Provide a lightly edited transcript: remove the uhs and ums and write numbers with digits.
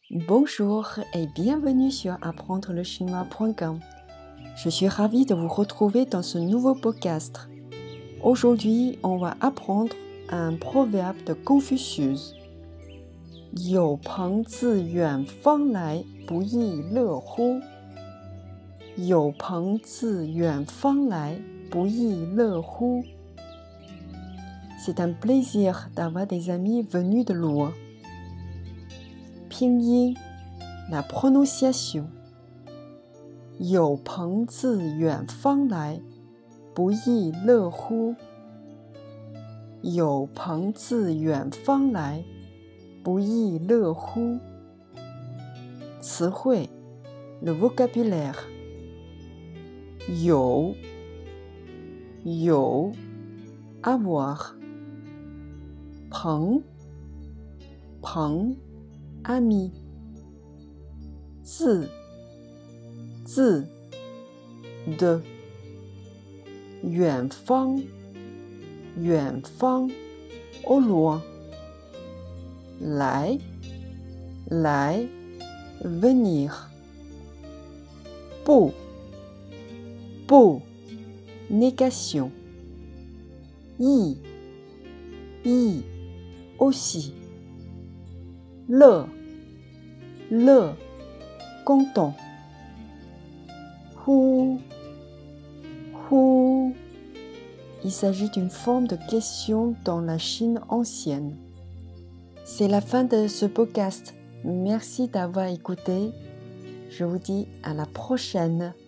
Bonjour et bienvenue sur apprendrelechinois.com. Je suis ravie de vous retrouver dans ce nouveau podcast. Aujourd'hui, on va apprendre un proverbe de Confucius. 有朋自远方来，不亦乐乎？有朋自远方来，不亦乐乎？ C'est un plaisir d'avoir des amis venus de loin. Pinyin, la prononciation. 有朋自远方来，不亦乐乎？有朋自远方来，不亦乐乎？词汇 le vocabulaire. 有 avoir. 朋 ami. 自 de. 远方 au loin. 来 venir. 不 négation. 意 aussi. 乐 content. 乎 Il s'agit d'une forme de question dans la Chine ancienne. C'est la fin de ce podcast. Merci d'avoir écouté. Je vous dis à la prochaine.